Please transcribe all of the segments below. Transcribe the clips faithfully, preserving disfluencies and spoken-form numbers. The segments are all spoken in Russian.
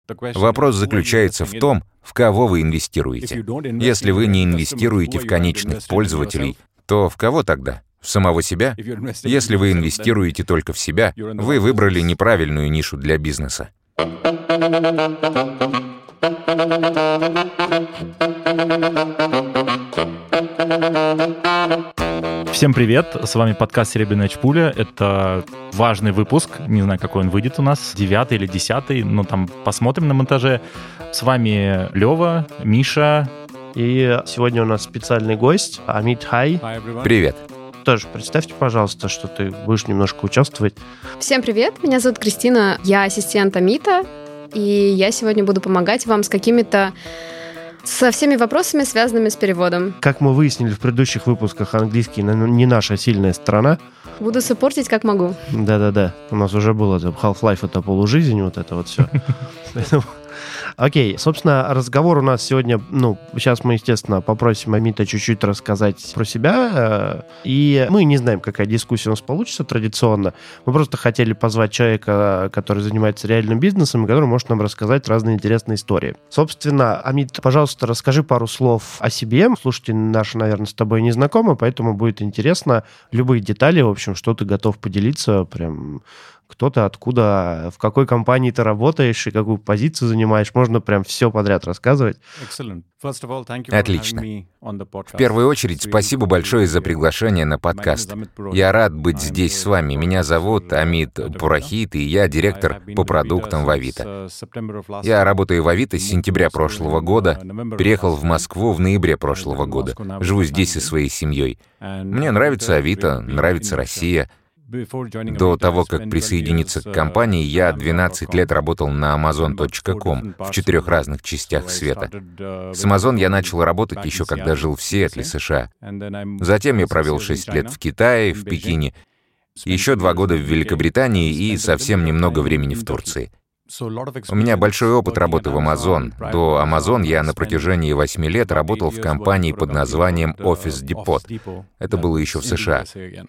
Вопрос заключается в том, в кого вы инвестируете. Если вы не инвестируете в конечных пользователей, то в кого тогда? В самого себя? Если вы инвестируете только в себя, вы выбрали неправильную нишу для бизнеса. Всем привет, с вами подкаст «Серебряная чпуля». Это важный выпуск, не знаю, какой он выйдет у нас, девятый или десятый, но там посмотрим на монтаже. С вами Лёва, Миша. И сегодня у нас специальный гость, Amit Хай. Привет. Тоже представьте, пожалуйста, что ты будешь немножко участвовать. Всем привет, меня зовут Кристина, я ассистент Амита, и я сегодня буду помогать вам с какими-то со всеми вопросами, связанными с переводом. Как мы выяснили в предыдущих выпусках, английский не наша сильная сторона. Буду саппортить, как могу. Да-да-да, у нас уже было Half-Life, это полужизнь, вот это вот все. Окей, собственно, разговор у нас сегодня, ну, сейчас мы, естественно, попросим Амита чуть-чуть рассказать про себя, и мы не знаем, какая дискуссия у нас получится традиционно. Мы просто хотели позвать человека, который занимается реальным бизнесом, и который может нам рассказать разные интересные истории. Собственно, Амит, пожалуйста, расскажи пару слов о себе. Слушатели наши, наверное, с тобой не знакомы, поэтому будет интересно любые детали, в общем, что ты готов поделиться, прям... Кто ты, откуда, в какой компании ты работаешь и какую позицию занимаешь. Можно прям все подряд рассказывать. Отлично. В первую очередь, спасибо большое за приглашение на подкаст. Я рад быть здесь с вами. Меня зовут Амит Пурахит, и я директор по продуктам в Авито. Я работаю в Авито с сентября прошлого года, переехал в Москву в ноябре прошлого года. Живу здесь со своей семьей. Мне нравится Авито, нравится Россия. До того, как присоединиться к компании, я двенадцать лет работал на амазон точка ком в четырех разных частях света. С Amazon я начал работать еще когда жил в Сиэтле, США. Затем я провел шесть лет в Китае, в Пекине, еще два года в Великобритании и совсем немного времени в Турции. У меня большой опыт работы в Amazon. До Amazon я на протяжении восьми лет работал в компании под названием Office Depot. Это было еще в США.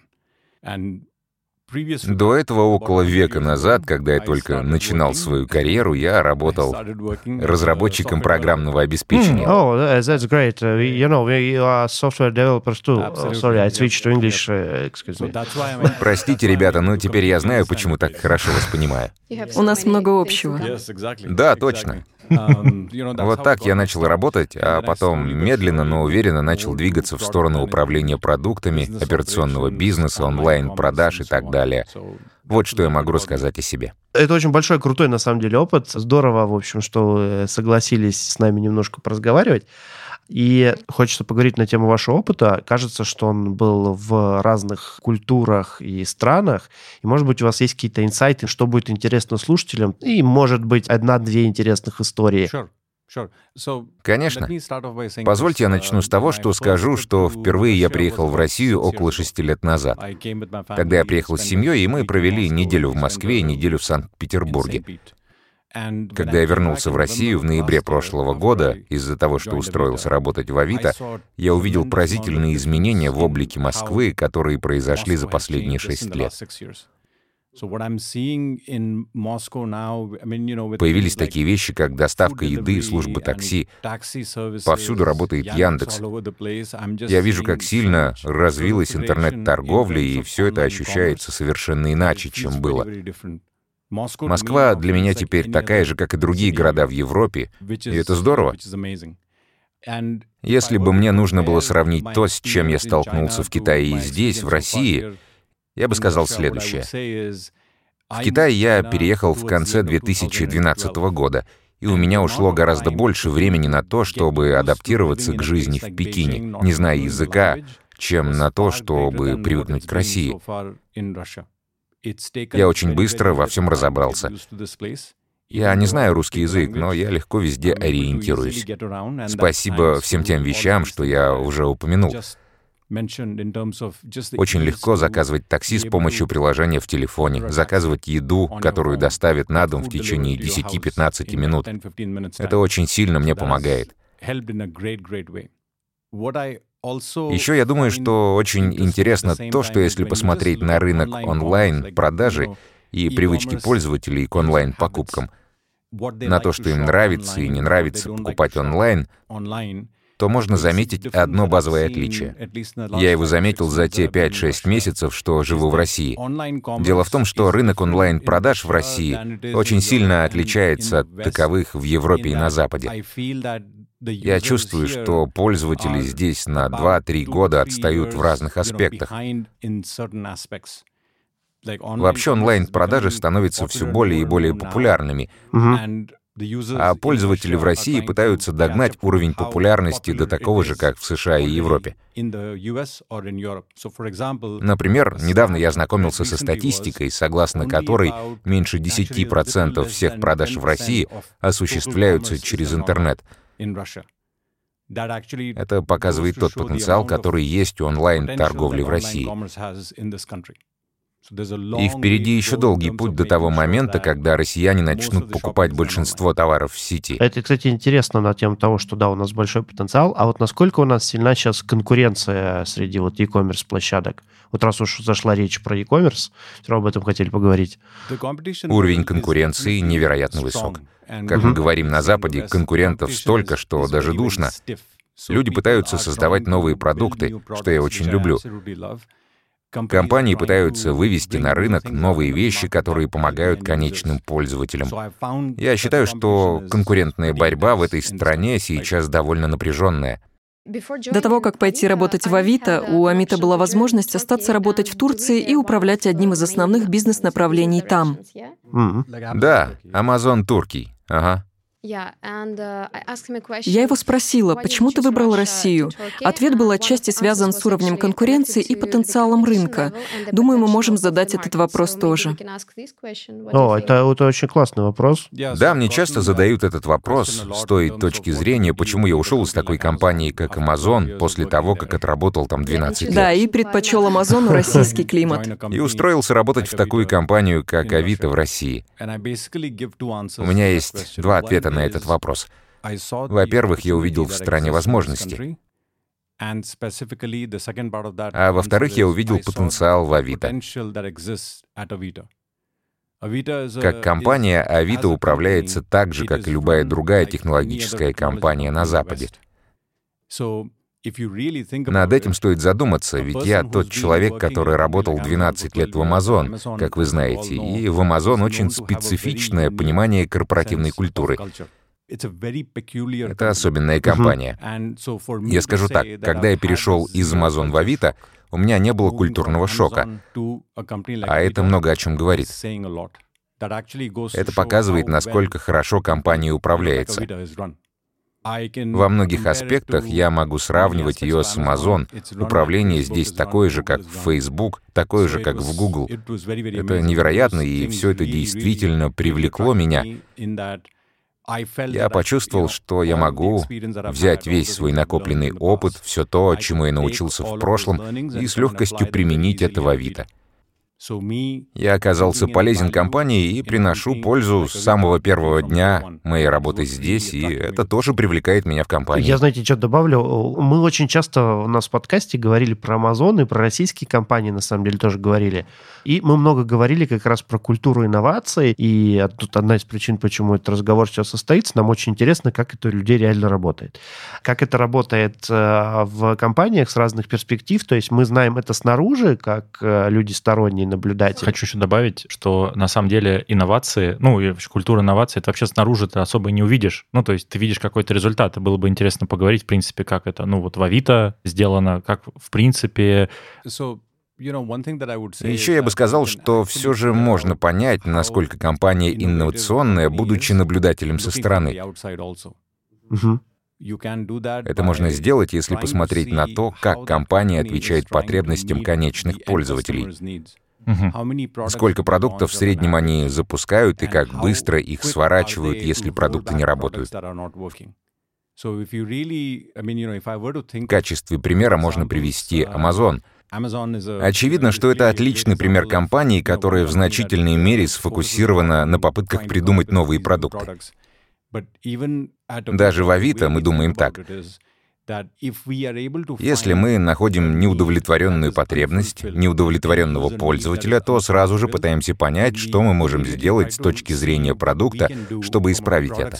До этого, около века назад, когда я только начинал свою карьеру, я работал разработчиком программного обеспечения. Oh, that's great. You know, we are software developers too. Sorry, I switched to English. Excuse me. Простите, ребята, но теперь я знаю, почему так хорошо вас понимаю. У нас много общего. Да, точно. Вот так я начал работать, а потом медленно, но уверенно начал двигаться в сторону управления продуктами, операционного бизнеса, онлайн-продаж и так далее. Вот что я могу рассказать о себе. Это очень большой, крутой, на самом деле, опыт. Здорово, в общем, что вы согласились с нами немножко поразговаривать. И хочется поговорить на тему вашего опыта. Кажется, что он был в разных культурах и странах. И, может быть, у вас есть какие-то инсайты, что будет интересно слушателям. И, может быть, одна-две интересных истории. Конечно. Позвольте я начну с того, что скажу, что впервые я приехал в Россию около шести лет назад. Когда я приехал с семьей, и мы провели неделю в Москве и неделю в Санкт-Петербурге. Когда я вернулся в Россию в ноябре прошлого года, из-за того, что устроился работать в Авито, я увидел поразительные изменения в облике Москвы, которые произошли за последние шесть лет. Появились такие вещи, как доставка еды, службы такси. Повсюду работает Яндекс. Я вижу, как сильно развилась интернет-торговля, и все это ощущается совершенно иначе, чем было. Москва для меня теперь такая же, как и другие города в Европе, и это здорово. Если бы мне нужно было сравнить то, с чем я столкнулся в Китае и здесь, в России, я бы сказал следующее. В Китай я переехал в конце две тысячи двенадцатого года, и у меня ушло гораздо больше времени на то, чтобы адаптироваться к жизни в Пекине, не зная языка, чем на то, чтобы привыкнуть к России. Я очень быстро во всем разобрался. Я не знаю русский язык, но я легко везде ориентируюсь. Спасибо всем тем вещам, что я уже упомянул. Очень легко заказывать такси с помощью приложения в телефоне, заказывать еду, которую доставят на дом в течение десяти-пятнадцати минут. Это очень сильно мне помогает. Еще я думаю, что очень интересно то, что если посмотреть на рынок онлайн-продажи и привычки пользователей к онлайн-покупкам, на то, что им нравится и не нравится покупать онлайн, то можно заметить одно базовое отличие. Я его заметил за те пять-шесть месяцев, что живу в России. Дело в том, что рынок онлайн-продаж в России очень сильно отличается от таковых в Европе и на Западе. Я чувствую, что пользователи здесь на два-три года отстают в разных аспектах. Вообще онлайн-продажи становятся все более и более популярными. Мгм. А пользователи в России пытаются догнать уровень популярности до такого же, как в США и Европе. Например, недавно я ознакомился со статистикой, согласно которой меньше десять процентов всех продаж в России осуществляются через интернет. Это показывает тот потенциал, который есть у онлайн-торговли в России. И впереди еще долгий путь до того момента, когда россияне начнут покупать большинство товаров в сети. Это, кстати, интересно на тему того, что да, у нас большой потенциал, а вот насколько у нас сильна сейчас конкуренция среди вот e-commerce площадок? Вот раз уж зашла речь про e-commerce, все равно об этом хотели поговорить. Уровень конкуренции невероятно высок. Как мы говорим на Западе, конкурентов столько, что даже душно. Люди пытаются создавать новые продукты, что я очень люблю. Компании пытаются вывести на рынок новые вещи, которые помогают конечным пользователям. Я считаю, что конкурентная борьба в этой стране сейчас довольно напряженная. До того, как пойти работать в Авито, у Амита была возможность остаться работать в Турции и управлять одним из основных бизнес-направлений там. Мгм. Да, Amazon Туркий. Ага. Я его спросила, почему ты выбрал Россию? Ответ был отчасти связан с уровнем конкуренции и потенциалом рынка. Думаю, мы можем задать этот вопрос тоже. О, это, это очень классный вопрос. Да, мне часто задают этот вопрос с той точки зрения, почему я ушел из такой компании, как Amazon, после того, как отработал там двенадцать лет. Да, и предпочел Амазону российский климат. И устроился работать в такую компанию, как Авито в России. У меня есть два ответа на этот вопрос. Во-первых, я увидел в стране возможности. А во-вторых, я увидел потенциал в Авито. Как компания, Авито управляется так же, как и любая другая технологическая компания на Западе. Над этим стоит задуматься, ведь я тот человек, который работал двенадцать лет в Amazon, как вы знаете, и в Amazon очень специфичное понимание корпоративной культуры. Это особенная компания. Я скажу так, когда я перешел из Amazon в Авито, у меня не было культурного шока. А это много о чем говорит. Это показывает, насколько хорошо компания управляется. Во многих аспектах я могу сравнивать ее с Amazon. Управление здесь такое же, как в Facebook, такое же, как в Google. Это невероятно, и все это действительно привлекло меня. Я почувствовал, что я могу взять весь свой накопленный опыт, все то, чему я научился в прошлом, и с легкостью применить это в Авито. Я оказался полезен компании и приношу пользу с самого первого дня моей работы здесь, и это тоже привлекает меня в компанию. Я, знаете, что добавлю? Мы очень часто у нас в подкасте говорили про Amazon и про российские компании, на самом деле, тоже говорили. И мы много говорили как раз про культуру инноваций, и тут одна из причин, почему этот разговор сейчас состоится, нам очень интересно, как это у людей реально работает. Как это работает в компаниях с разных перспектив, то есть мы знаем это снаружи, как люди сторонние, наблюдатель. Хочу еще добавить, что на самом деле инновации, ну и вообще культура инноваций, это вообще снаружи ты особо не увидишь. Ну, то есть ты видишь какой-то результат. И было бы интересно поговорить, в принципе, как это, ну, вот в Авито сделано, как, в принципе... Еще я бы сказал, что все же можно понять, насколько компания инновационная, будучи наблюдателем со стороны. Угу. Это можно сделать, если посмотреть на то, как компания отвечает потребностям конечных пользователей. Угу. Сколько продуктов в среднем они запускают и как быстро их сворачивают, если продукты не работают. В качестве примера можно привести Amazon. Очевидно, что это отличный пример компании, которая в значительной мере сфокусирована на попытках придумать новые продукты. Даже в Авито мы думаем так. Если мы находим неудовлетворенную потребность, неудовлетворенного пользователя, то сразу же пытаемся понять, что мы можем сделать с точки зрения продукта, чтобы исправить это.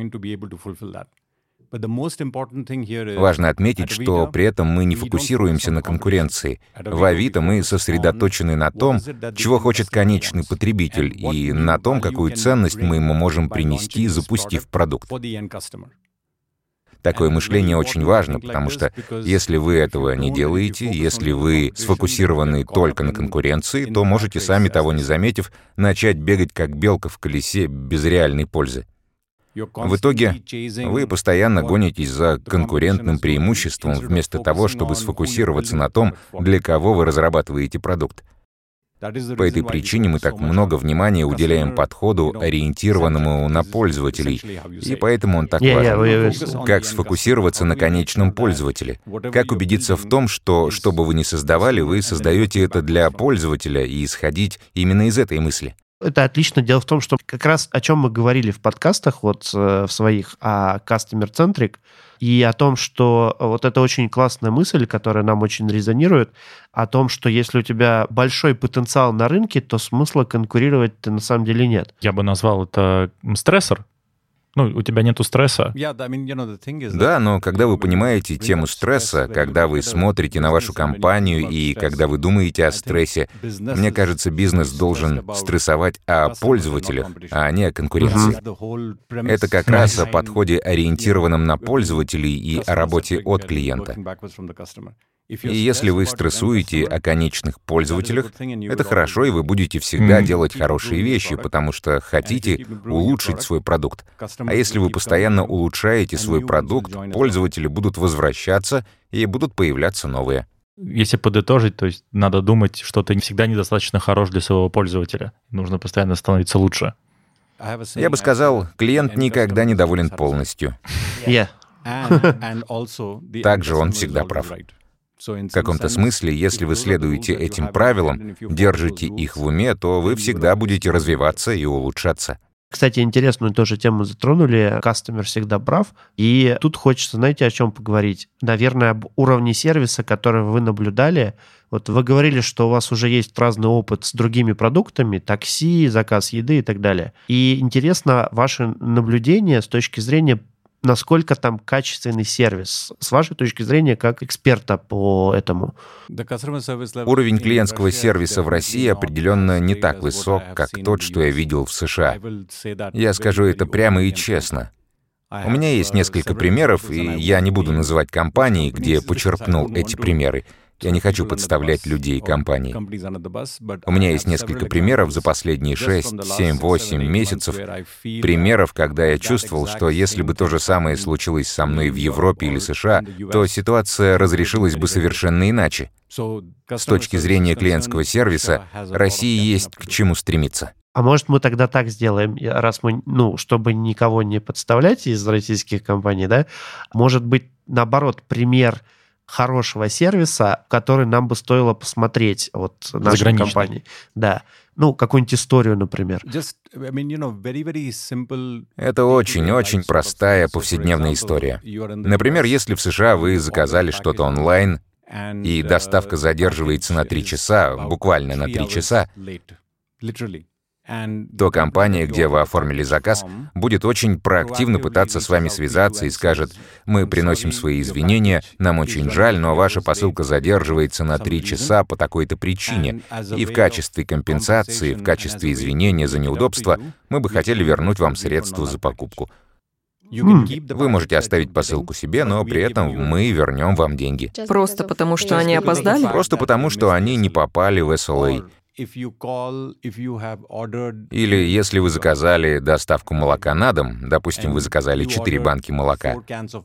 Важно отметить, что при этом мы не фокусируемся на конкуренции. В Авито мы сосредоточены на том, чего хочет конечный потребитель, и на том, какую ценность мы ему можем принести, запустив продукт. Такое мышление очень важно, потому что если вы этого не делаете, если вы сфокусированы только на конкуренции, то можете, сами того не заметив, начать бегать как белка в колесе без реальной пользы. В итоге вы постоянно гонитесь за конкурентным преимуществом вместо того, чтобы сфокусироваться на том, для кого вы разрабатываете продукт. По этой причине мы так много внимания уделяем подходу, ориентированному на пользователей, и поэтому он так важен. Как сфокусироваться на конечном пользователе? Как убедиться в том, что, что бы вы ни создавали, вы создаете это для пользователя, и исходить именно из этой мысли? Это отлично. Дело в том, что как раз о чем мы говорили в подкастах вот в своих, о customer-centric, и о том, что вот это очень классная мысль, которая нам очень резонирует, о том, что если у тебя большой потенциал на рынке, то смысла конкурировать-то на самом деле нет. Я бы назвал это стрессор. Ну, у тебя нету стресса. Да, но когда вы понимаете тему стресса, когда вы смотрите на вашу компанию и когда вы думаете о стрессе, мне кажется, бизнес должен стрессовать о пользователях, а не о конкуренции. Это как раз о подходе, ориентированном на пользователей, и о работе от клиента. И если вы стрессуете о конечных пользователях, это хорошо, и вы будете всегда делать хорошие вещи, потому что хотите улучшить свой продукт. А если вы постоянно улучшаете свой продукт, пользователи будут возвращаться и будут появляться новые. Если подытожить, то есть надо думать, что ты всегда недостаточно хорош для своего пользователя. Нужно постоянно становиться лучше. Я бы сказал, клиент никогда не доволен полностью. Yeah. Также он всегда прав. В каком-то смысле, если вы следуете этим правилам, держите их в уме, то вы всегда будете развиваться и улучшаться. Кстати, интересную тоже тему затронули. Кастомер всегда прав. И тут хочется, знаете, о чем поговорить? Наверное, об уровне сервиса, который вы наблюдали. Вот вы говорили, что у вас уже есть разный опыт с другими продуктами, такси, заказ еды и так далее. И интересно ваше наблюдение с точки зрения, насколько там качественный сервис, с вашей точки зрения, как эксперта по этому? Уровень клиентского сервиса в России определенно не так высок, как тот, что я видел в США. Я скажу это прямо и честно. У меня есть несколько примеров, и я не буду называть компании, где я почерпнул эти примеры. Я не хочу подставлять людей и компании. У меня есть несколько примеров за последние шесть, семь, восемь месяцев, примеров, когда я чувствовал, что если бы то же самое случилось со мной в Европе или США, то ситуация разрешилась бы совершенно иначе. С точки зрения клиентского сервиса, России есть к чему стремиться. А может, мы тогда так сделаем, раз мы, ну, чтобы никого не подставлять из российских компаний, да, может быть, наоборот, пример хорошего сервиса, который нам бы стоило посмотреть вот нашей компании. Да. Ну, какую-нибудь историю, например. Это очень-очень простая повседневная история. Например, если в США вы заказали что-то онлайн, и доставка задерживается на три часа, буквально на три часа, то компания, где вы оформили заказ, будет очень проактивно пытаться с вами связаться и скажет: «Мы приносим свои извинения, нам очень жаль, но ваша посылка задерживается на три часа по такой-то причине, и в качестве компенсации, в качестве извинения за неудобство, мы бы хотели вернуть вам средства за покупку. Вы можете оставить посылку себе, но при этом мы вернем вам деньги». Просто потому, что они опоздали? Просто потому, что они не попали в эс эл эй. Или если вы заказали доставку молока на дом, допустим, вы заказали четыре банки молока,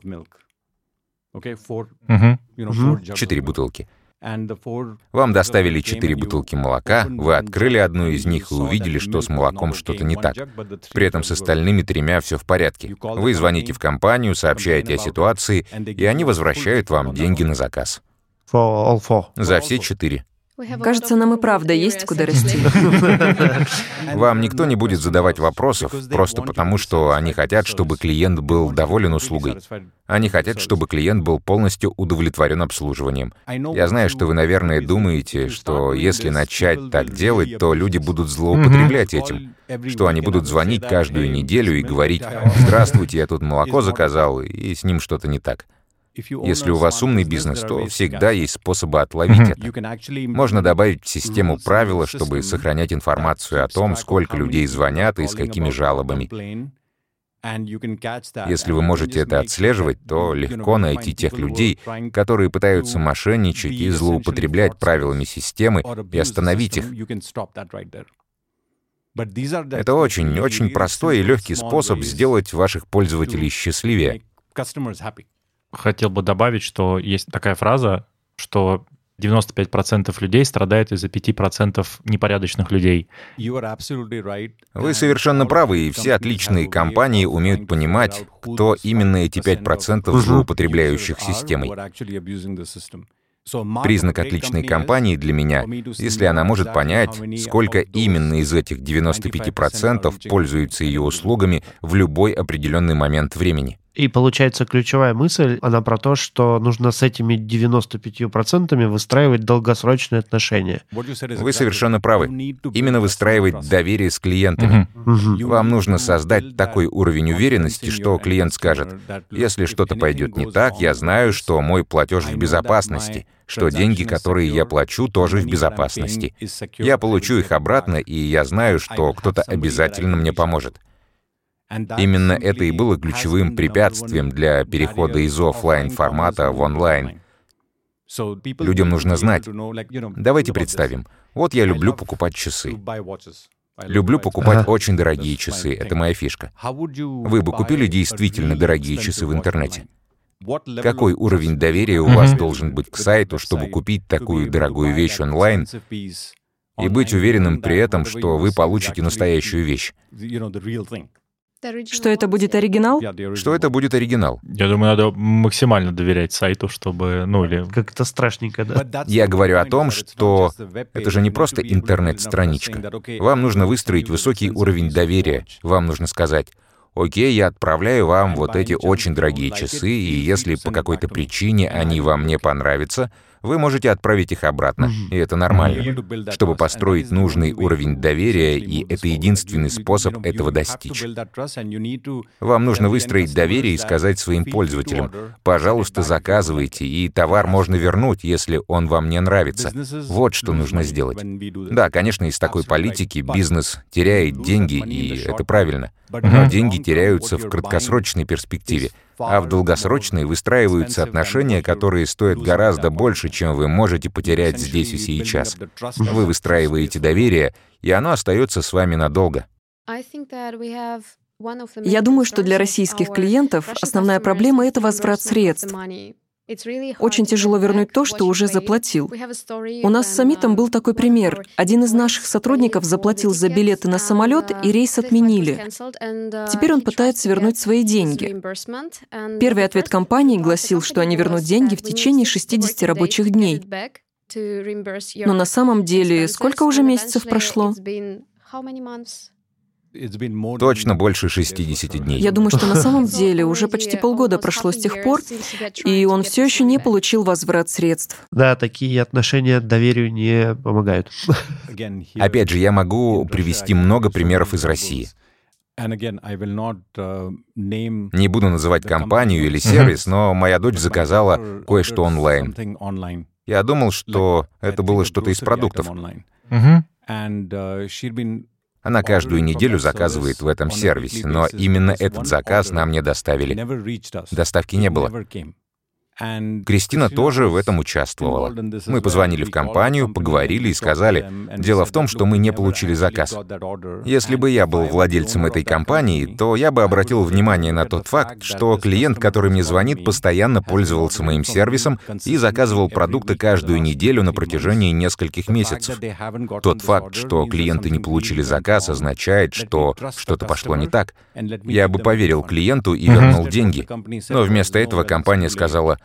четыре бутылки. Вам доставили четыре бутылки молока, вы открыли одну из них и увидели, что с молоком что-то не так. При этом с остальными тремя все в порядке. Вы звоните в компанию, сообщаете о ситуации, и они возвращают вам деньги на заказ. За все четыре. Кажется, нам и правда есть куда расти. Вам никто не будет задавать вопросов, просто потому, что они хотят, чтобы клиент был доволен услугой. Они хотят, чтобы клиент был полностью удовлетворен обслуживанием. Я знаю, что вы, наверное, думаете, что если начать так делать, то люди будут злоупотреблять этим, что они будут звонить каждую неделю и говорить: «Здравствуйте, я тут молоко заказал, и с ним что-то не так». Если у вас умный бизнес, то всегда есть способы отловить это. Можно добавить в систему правила, чтобы сохранять информацию о том, сколько людей звонят и с какими жалобами. Если вы можете это отслеживать, то легко найти тех людей, которые пытаются мошенничать и злоупотреблять правилами системы, и остановить их. Это очень-очень простой и легкий способ сделать ваших пользователей счастливее. Хотел бы добавить, что есть такая фраза, что девяносто пять процентов людей страдают из-за пяти процентов непорядочных людей. Вы совершенно правы, и все отличные компании умеют понимать, кто именно эти пять процентов злоупотребляющих системой. Признак отличной компании для меня, если она может понять, сколько именно из этих девяноста пяти процентов пользуются ее услугами в любой определенный момент времени. И получается, ключевая мысль, она про то, что нужно с этими девяноста пятью процентами выстраивать долгосрочные отношения. Вы совершенно правы. Именно выстраивать доверие с клиентами. Угу. Вам нужно создать такой уровень уверенности, что клиент скажет: «Если что-то пойдет не так, я знаю, что мой платеж в безопасности, что деньги, которые я плачу, тоже в безопасности. Я получу их обратно, и я знаю, что кто-то обязательно мне поможет». Именно это и было ключевым препятствием для перехода из офлайн формата в онлайн. Людям нужно знать. Давайте представим. Вот я люблю покупать часы. Люблю покупать ага. очень дорогие часы. Это моя фишка. Вы бы купили действительно дорогие часы в интернете? Какой уровень доверия у вас должен быть к сайту, чтобы купить такую дорогую вещь онлайн и быть уверенным при этом, что вы получите настоящую вещь? Что это будет оригинал? Что это будет оригинал? Я думаю, надо максимально доверять сайту, чтобы, ну или... Как-то страшненько, да? Я говорю о том, что это же не просто интернет-страничка. Вам нужно выстроить высокий уровень доверия. Вам нужно сказать: «Окей, я отправляю вам вот эти очень дорогие часы, и если по какой-то причине они вам не понравятся, вы можете отправить их обратно, и это нормально». Чтобы построить нужный уровень доверия, и это единственный способ этого достичь. Вам нужно выстроить доверие и сказать своим пользователям: «Пожалуйста, заказывайте, и товар можно вернуть, если он вам не нравится». Вот что нужно сделать. Да, конечно, из такой политики бизнес теряет деньги, и это правильно. Но деньги теряются в краткосрочной перспективе, а в долгосрочной выстраиваются отношения, которые стоят гораздо больше, чем вы можете потерять здесь и сейчас. Вы выстраиваете доверие, и оно остается с вами надолго. Я думаю, что для российских клиентов основная проблема — это возврат средств. Очень тяжело вернуть то, что уже заплатил. У нас с Амитом был такой пример. Один из наших сотрудников заплатил за билеты на самолет, и рейс отменили. Теперь он пытается вернуть свои деньги. Первый ответ компании гласил, что они вернут деньги в течение шестидесяти рабочих дней. Но на самом деле, сколько уже месяцев прошло? Точно больше шестидесяти дней. Я думаю, что на самом деле уже почти полгода прошло с тех пор, и он все еще не получил возврат средств. Да, такие отношения доверию не помогают. Опять же, я могу привести много примеров из России. Не буду называть компанию или сервис, но моя дочь заказала кое-что онлайн. Я думал, что это было что-то из продуктов. Она каждую неделю заказывает в этом сервисе, но именно этот заказ нам не доставили. Доставки не было. Кристина тоже в этом участвовала. Мы позвонили в компанию, поговорили и сказали: дело в том, что мы не получили заказ. Если бы я был владельцем этой компании, то я бы обратил внимание на тот факт, что клиент, который мне звонит, постоянно пользовался моим сервисом и заказывал продукты каждую неделю на протяжении нескольких месяцев. Тот факт, что клиенты не получили заказ, означает, что что-то пошло не так. Я бы поверил клиенту и вернул деньги. Но вместо этого компания сказала: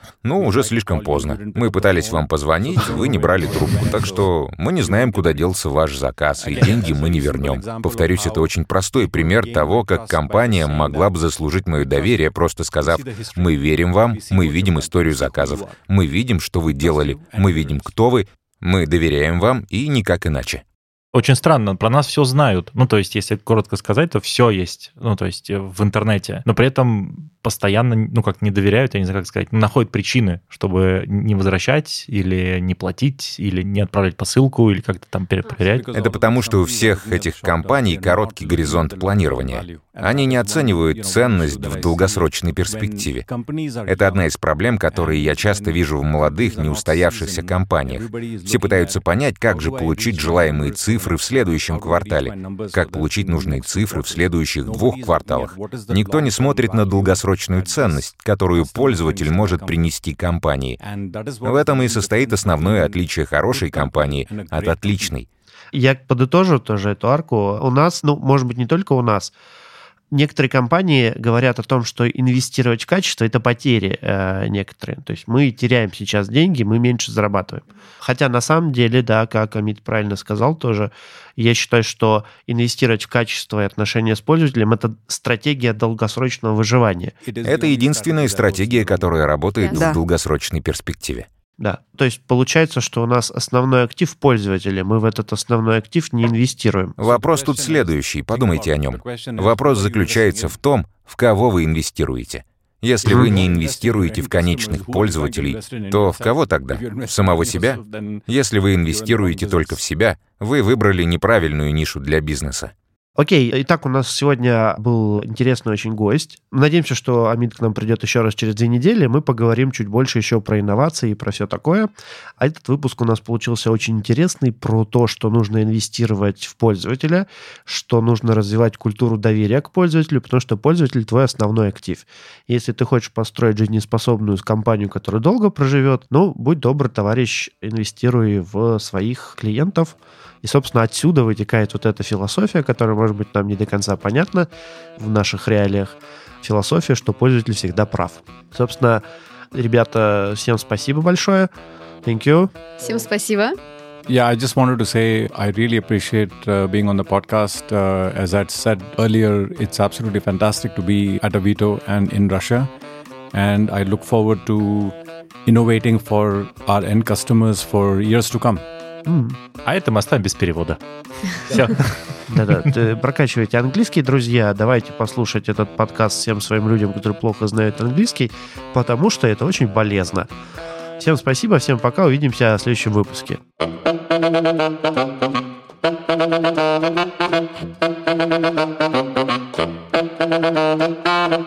Ну, уже слишком поздно. Мы пытались вам позвонить, вы не брали трубку, так что мы не знаем, куда делся ваш заказ, и деньги мы не вернем. Повторюсь, это очень простой пример того, как компания могла бы заслужить мое доверие, просто сказав: мы верим вам, мы видим историю заказов, мы видим, что вы делали, мы видим, кто вы, мы доверяем вам и никак иначе. Очень странно, про нас все знают. Ну, то есть, если коротко сказать, то все есть, ну, то есть, в интернете. Но при этом постоянно, ну, как не доверяют, я не знаю, как сказать, находят причины, чтобы не возвращать или не платить, или не отправлять посылку, или как-то там перепроверять. Это потому, что у всех этих компаний короткий горизонт планирования. Они не оценивают ценность в долгосрочной перспективе. Это одна из проблем, которые я часто вижу в молодых, неустоявшихся компаниях. Все пытаются понять, как же получить желаемые цифры в следующем квартале, как получить нужные цифры в следующих двух кварталах. Никто не смотрит на долгосрочную ценность, которую пользователь может принести компании. В этом и состоит основное отличие хорошей компании от отличной. Я подытожу тоже эту арку. У нас, ну, может быть, не только у нас, некоторые компании говорят о том, что инвестировать в качество — это потери э, некоторые. То есть мы теряем сейчас деньги, мы меньше зарабатываем. Хотя на самом деле, да, как Амит правильно сказал тоже, я считаю, что инвестировать в качество и отношения с пользователем — это стратегия долгосрочного выживания. Это единственная стратегия, которая работает Да. в долгосрочной перспективе. Да, то есть получается, что у нас основной актив пользователя, мы в этот основной актив не инвестируем. Вопрос тут следующий, подумайте о нем. Вопрос заключается в том, в кого вы инвестируете. Если вы не инвестируете в конечных пользователей, то в кого тогда? В самого себя? Если вы инвестируете только в себя, вы выбрали неправильную нишу для бизнеса. Окей, итак, у нас сегодня был интересный очень гость. Надеемся, что Амит к нам придет еще раз через две недели. Мы поговорим чуть больше еще про инновации и про все такое. А этот выпуск у нас получился очень интересный про то, что нужно инвестировать в пользователя, что нужно развивать культуру доверия к пользователю, потому что пользователь — твой основной актив. Если ты хочешь построить жизнеспособную компанию, которая долго проживет, ну, будь добр, товарищ, инвестируй в своих клиентов. И, собственно, отсюда вытекает вот эта философия, которая, может быть, нам не до конца понятна в наших реалиях. Философия, что пользователь всегда прав. Собственно, ребята, всем спасибо большое. Thank you. Всем спасибо. Yeah, I just wanted to say I really appreciate uh, being on the podcast. Uh, as I said earlier, it's absolutely fantastic to be at Avito and in Russia. And I look forward to innovating for our end customers for years to come. Mm. А это мы оставим без перевода. Все. Да-да, прокачивайте английский, друзья. Давайте послушать этот подкаст всем своим людям, которые плохо знают английский, потому что это очень полезно. Всем спасибо, всем пока, увидимся в следующем выпуске.